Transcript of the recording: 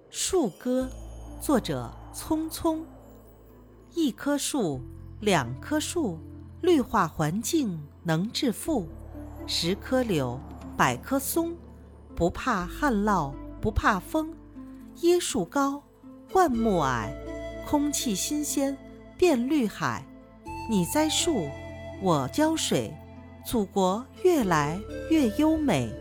树歌，作者匆匆。一棵树，两棵树，绿化环境能致富。10棵柳，100棵松，不怕旱涝，不怕风。椰树高，灌木矮，空气新鲜，变绿海。你栽树，我浇水，祖国越来越优美。